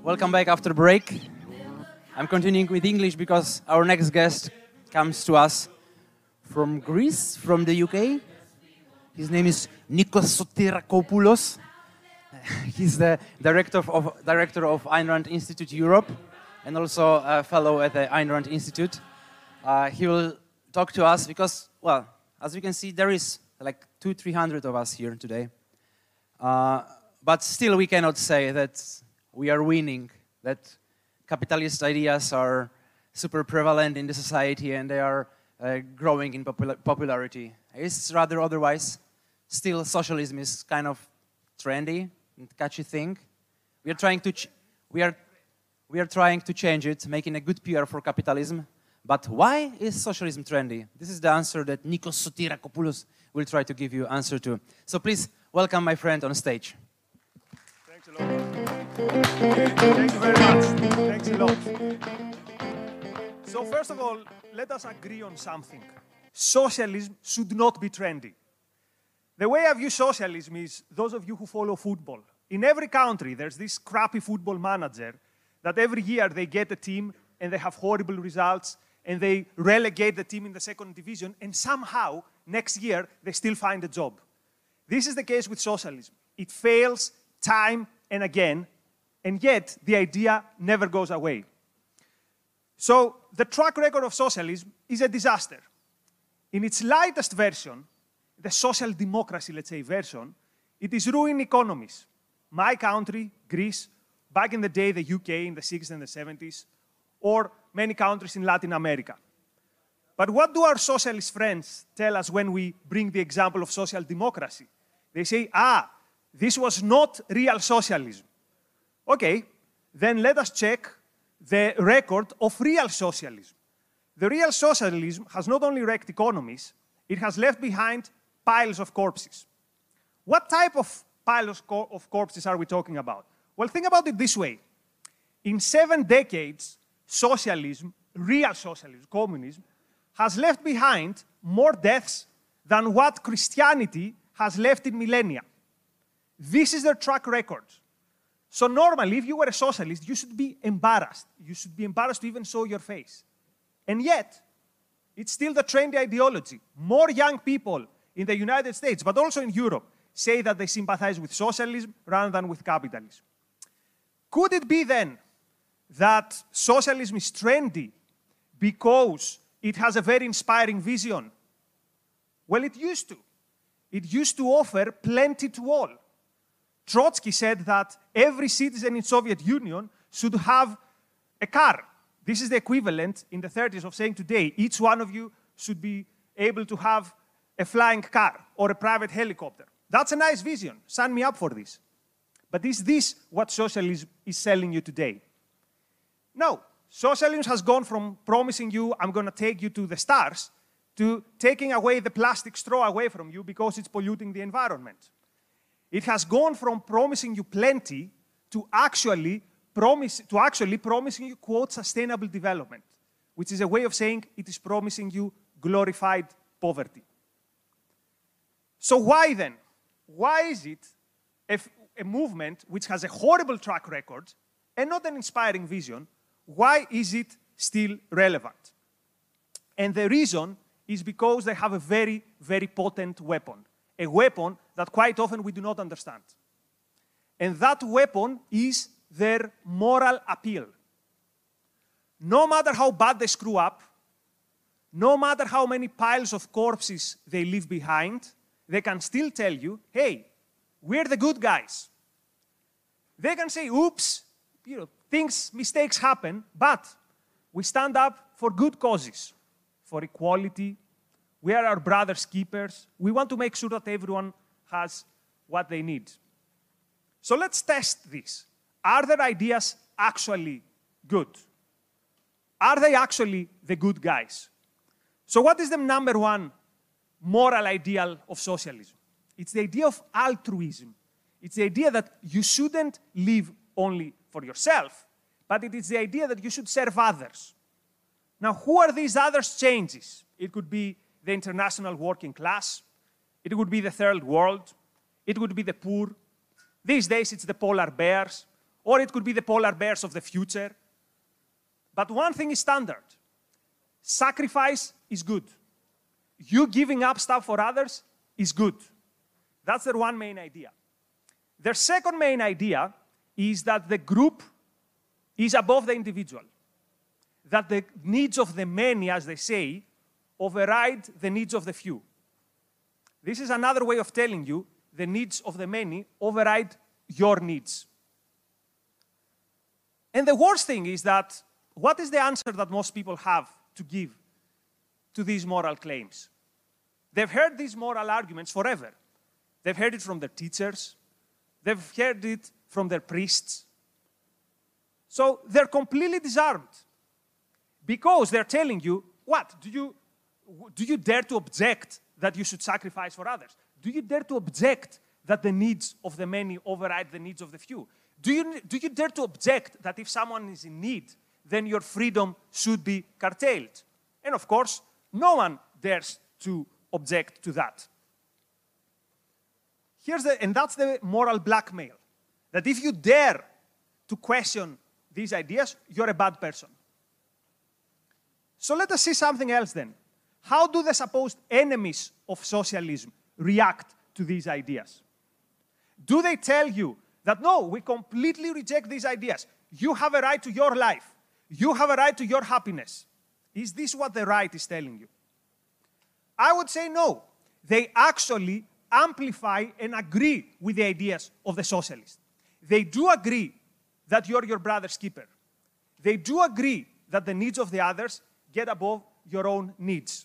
Welcome back after break. I'm continuing with English because our next guest comes to us from Greece, from the UK. His name is Nikos Sotirakopoulos. He's the director of Ayn Rand Institute Europe and also a fellow at the Ayn Rand Institute. He will talk to us because, well, as you can see, there is like 200-300 of us here today. But still we cannot say that we are winning, that capitalist ideas are super prevalent in the society and they are growing in popularity. It's rather otherwise. Still, socialism is kind of trendy and catchy thing. We are trying to change it, making a good PR for capitalism. But why is socialism trendy? This is the answer that Nikos Sotirakopoulos will try to give you answer to. So please welcome my friend on stage. Thanks a lot. Thank you very much. Thanks a lot. So first of all, let us agree on something. Socialism should not be trendy. The way I view socialism is those of you who follow football. In every country, there's this crappy football manager that every year they get a team and they have horrible results and they relegate the team in the second division and somehow next year they still find a job. This is the case with socialism. It fails time and again, and yet the idea never goes away. So the track record of socialism is a disaster. In its lightest version, the social democracy, let's say, version, it is ruining economies. My country, Greece, back in the day, the UK in the 60s and the 70s, or many countries in Latin America. But what do our socialist friends tell us when we bring the example of social democracy? They say, this was not real socialism. Okay, then let us check the record of real socialism. The real socialism has not only wrecked economies, it has left behind piles of corpses. What type of piles of corpses are we talking about? Well, think about it this way. In 7 decades, socialism, real socialism, communism, has left behind more deaths than what Christianity has left in millennia. This is their track record. So normally, if you were a socialist, you should be embarrassed. You should be embarrassed to even show your face. And yet, it's still the trendy ideology. More young people in the United States, but also in Europe, say that they sympathize with socialism rather than with capitalism. Could it be then that socialism is trendy because it has a very inspiring vision? Well, it used to. It used to offer plenty to all. Trotsky said that every citizen in Soviet Union should have a car. This is the equivalent in the 30s of saying today, each one of you should be able to have a flying car or a private helicopter. That's a nice vision. Sign me up for this. But is this what socialism is selling you today? No. Socialism has gone from promising you, I'm going to take you to the stars, to taking away the plastic straw away from you because it's polluting the environment. It has gone from promising you plenty to actually promising you, quote, sustainable development, which is a way of saying it is promising you glorified poverty. So why then? Why is it a movement which has a horrible track record and not an inspiring vision, why is it still relevant? And the reason is because they have a very, very potent weapon. A weapon that quite often we do not understand. And that weapon is their moral appeal. No matter how bad they screw up, no matter how many piles of corpses they leave behind, they can still tell you, hey, we're the good guys. They can say, oops, mistakes happen, but we stand up for good causes, for equality. We are our brother's keepers. We want to make sure that everyone has what they need. So let's test this. Are their ideas actually good? Are they actually the good guys? So what is the number one moral ideal of socialism? It's the idea of altruism. It's the idea that you shouldn't live only for yourself, but it is the idea that you should serve others. Now, who are these others changes? It could be the international working class. It would be the third world. It would be the poor. These days, it's the polar bears. or it could be the polar bears of the future. But one thing is standard. Sacrifice is good. You giving up stuff for others is good. That's their one main idea. Their second main idea is that the group is above the individual. That the needs of the many, as they say, override the needs of the few. This is another way of telling you the needs of the many override your needs. And the worst thing is that, what is the answer that most people have to give to these moral claims? They've heard these moral arguments forever. They've heard it from their teachers. They've heard it from their priests. So they're completely disarmed. Because they're telling you, what? Do you dare to object that you should sacrifice for others? Do you dare to object that the needs of the many override the needs of the few? Do you dare to object that if someone is in need, then your freedom should be curtailed? And of course, no one dares to object to that. And that's the moral blackmail. That if you dare to question these ideas, you're a bad person. So let us see something else then. How do the supposed enemies of socialism react to these ideas? Do they tell you that, no, we completely reject these ideas. You have a right to your life. You have a right to your happiness. Is this what the right is telling you? I would say no. They actually amplify and agree with the ideas of the socialists. They do agree that you're your brother's keeper. They do agree that the needs of the others get above your own needs.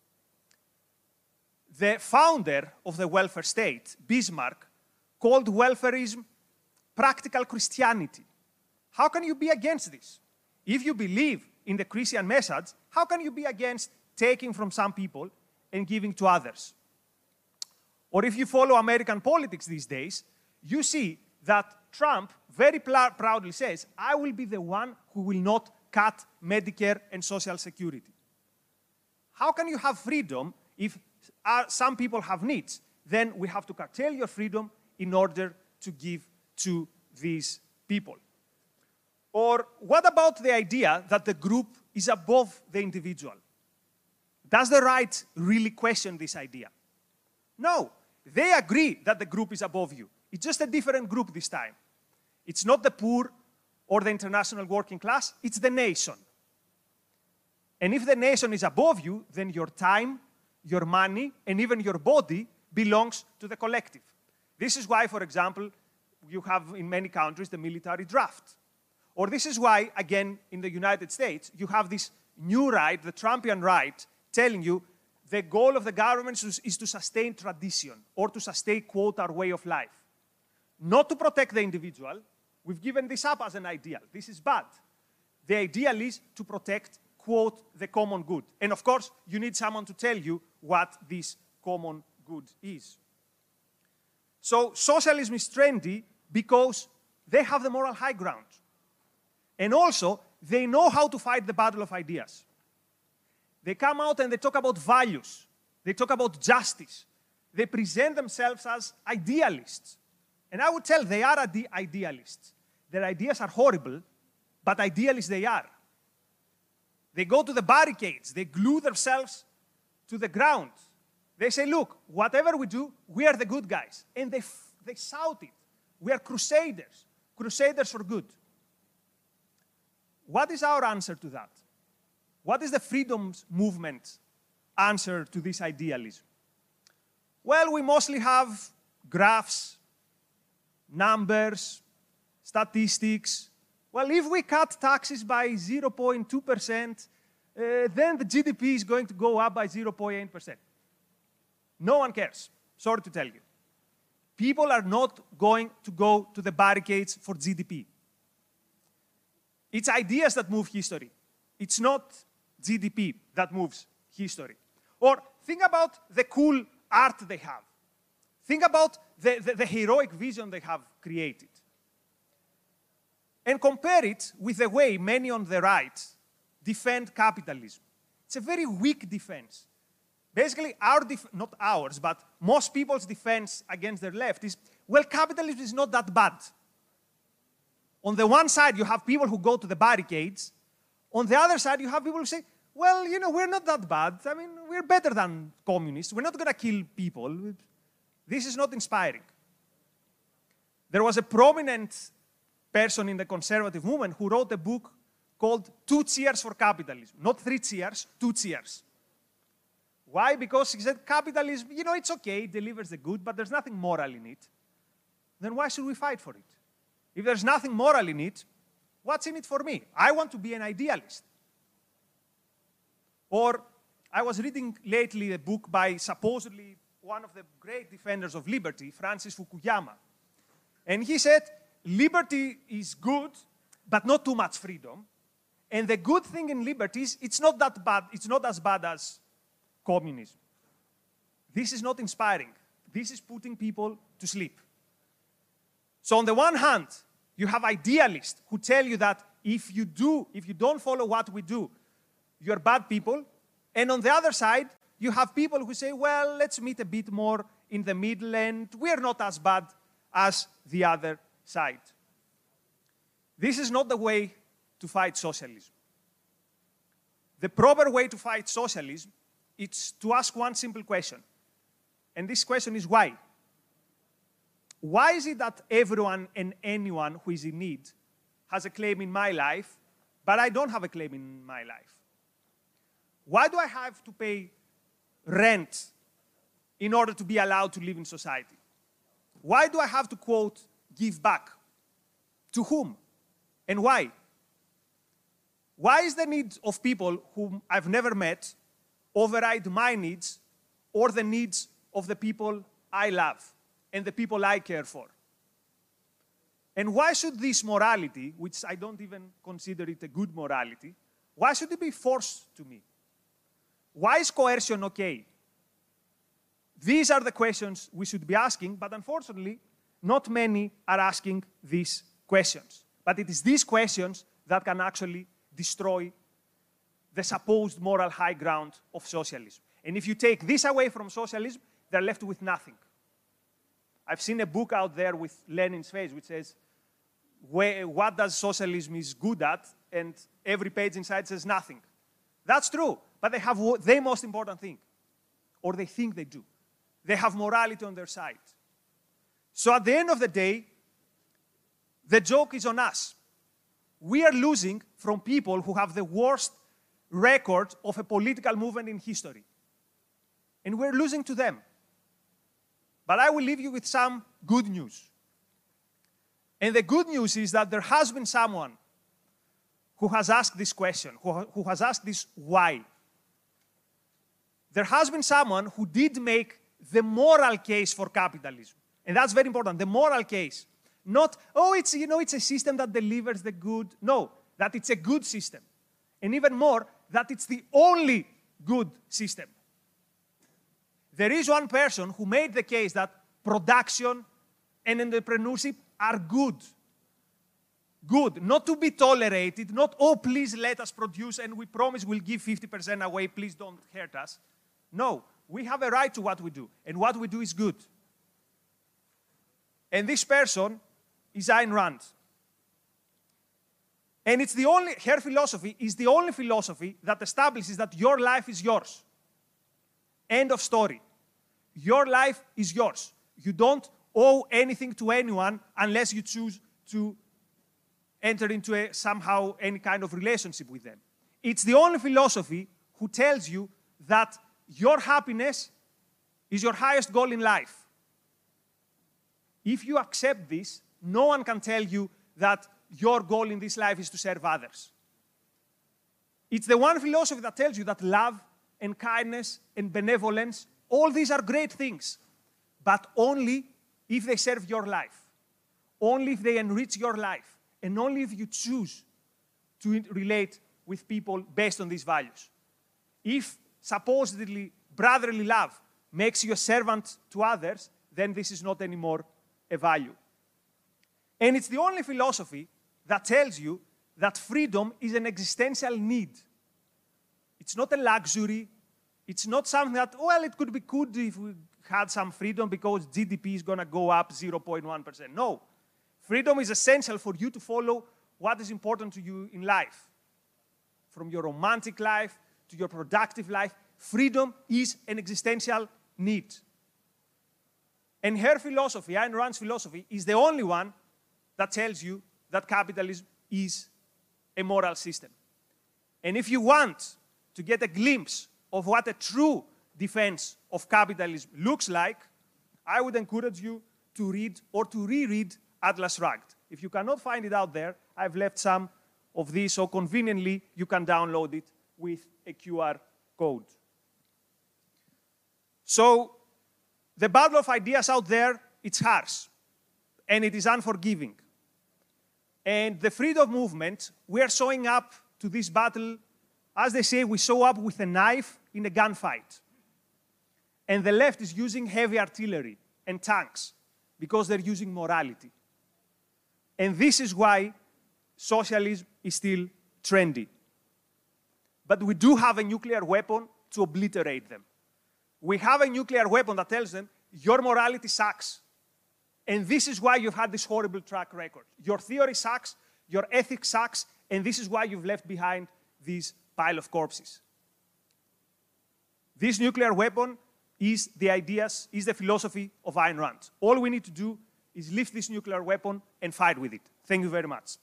The founder of the welfare state, Bismarck, called welfarism practical Christianity. How can you be against this? If you believe in the Christian message, how can you be against taking from some people and giving to others? Or if you follow American politics these days, you see that Trump very proudly says, I will be the one who will not cut Medicare and Social Security. How can you have freedom if some people have needs? Then we have to curtail your freedom in order to give to these people. Or what about the idea that the group is above the individual? Does the right really question this idea? No. They agree that the group is above you. It's just a different group this time. It's not the poor or the international working class, it's the nation. And if the nation is above you, then your time, your money, and even your body belongs to the collective. This is why, for example, you have in many countries the military draft. Or this is why, again, in the United States, you have this new right, the Trumpian right, telling you the goal of the government is to sustain tradition or to sustain, quote, our way of life. Not to protect the individual. We've given this up as an ideal. This is bad. The ideal is to protect, quote, the common good. And of course, you need someone to tell you what this common good is. So socialism is trendy because they have the moral high ground. And also, they know how to fight the battle of ideas. They come out and they talk about values. They talk about justice. They present themselves as idealists. And I would tell they are idealists. Their ideas are horrible, but idealists they are. They go to the barricades. They glue themselves to the ground. They say, look, whatever we do, we are the good guys. And they shout it. We are crusaders. Crusaders for good. What is our answer to that? What is the freedoms movement answer to this idealism? Well, we mostly have graphs, numbers, statistics. Well, if we cut taxes by 0.2%, then the GDP is going to go up by 0.8%. No one cares, sorry to tell you. People are not going to go to the barricades for GDP. It's ideas that move history. It's not GDP that moves history. Or think about the cool art they have. Think about the heroic vision they have created. And compare it with the way many on the right defend capitalism. It's a very weak defense. Basically, not ours, but most people's defense against their left is, well, capitalism is not that bad. On the one side, you have people who go to the barricades. On the other side, you have people who say, well, you know, we're not that bad. I mean, we're better than communists. We're not going to kill people. This is not inspiring. There was a prominent person in the conservative movement who wrote a book called 2 Cheers for Capitalism. Not 3 cheers, 2 cheers. Why? Because he said capitalism, you know, it's okay, it delivers the good, but there's nothing moral in it. Then why should we fight for it? If there's nothing moral in it, what's in it for me? I want to be an idealist. Or I was reading lately a book by supposedly one of the great defenders of liberty, Francis Fukuyama. And he said, liberty is good, but not too much freedom. And the good thing in liberty is it's not that bad, it's not as bad as communism. This is not inspiring. This is putting people to sleep. So on the one hand, you have idealists who tell you that if you don't follow what we do, you're bad people. And on the other side, you have people who say, well, let's meet a bit more in the middle and we're not as bad as the other side. This is not the way to fight socialism. The proper way to fight socialism is to ask one simple question. And this question is why? Why is it that everyone and anyone who is in need has a claim in my life, but I don't have a claim in my life? Why do I have to pay rent in order to be allowed to live in society? Why do I have to, quote, give back? To whom? And why? Why is the need of people whom I've never met override my needs or the needs of the people I love and the people I care for? And why should this morality, which I don't even consider it a good morality, why should it be forced to me? Why is coercion okay? These are the questions we should be asking, but unfortunately, not many are asking these questions. But it is these questions that can actually destroy the supposed moral high ground of socialism. And if you take this away from socialism, they're left with nothing. I've seen a book out there with Lenin's face which says, what does socialism is good at? And every page inside says nothing. That's true, but they have the most important thing, or they think they do. They have morality on their side. So at the end of the day, the joke is on us. We are losing from people who have the worst record of a political movement in history. And we're losing to them. But I will leave you with some good news. And the good news is that there has been someone who has asked this question, who has asked this why. There has been someone who did make the moral case for capitalism. And that's very important, the moral case. Not, oh, it's a system that delivers the good. No, that it's a good system. And even more, that it's the only good system. There is one person who made the case that production and entrepreneurship are good. Good, not to be tolerated, not, oh, please let us produce and we promise we'll give 50% away, please don't hurt us. No, we have a right to what we do, and what we do is good. And this person is Ayn Rand. And her philosophy is the only philosophy that establishes that your life is yours. End of story. Your life is yours. You don't owe anything to anyone unless you choose to enter into somehow any kind of relationship with them. It's the only philosophy who tells you that your happiness is your highest goal in life. If you accept this, no one can tell you that your goal in this life is to serve others. It's the one philosophy that tells you that love and kindness and benevolence, all these are great things, but only if they serve your life, only if they enrich your life, and only if you choose to relate with people based on these values. If supposedly brotherly love makes you a servant to others, then this is not anymore a value. And it's the only philosophy that tells you that freedom is an existential need. It's not a luxury. It's not something that, well, it could be good if we had some freedom because GDP is going to go up 0.1%. No. Freedom is essential for you to follow what is important to you in life. From your romantic life to your productive life, freedom is an existential need. And her philosophy, Ayn Rand's philosophy, is the only one that tells you that capitalism is a moral system. And if you want to get a glimpse of what a true defense of capitalism looks like, I would encourage you to read or to reread Atlas Shrugged. If you cannot find it out there, I've left some of these, so conveniently you can download it with a QR code. So, the battle of ideas out there, it's harsh, and it is unforgiving. And the freedom movement, we are showing up to this battle, as they say, we show up with a knife in a gunfight. And the left is using heavy artillery and tanks because they're using morality. And this is why socialism is still trendy. But we do have a nuclear weapon to obliterate them. We have a nuclear weapon that tells them, your morality sucks. And this is why you've had this horrible track record. Your theory sucks, your ethics sucks, and this is why you've left behind this pile of corpses. This nuclear weapon is the ideas, is the philosophy of Ayn Rand. All we need to do is lift this nuclear weapon and fight with it. Thank you very much.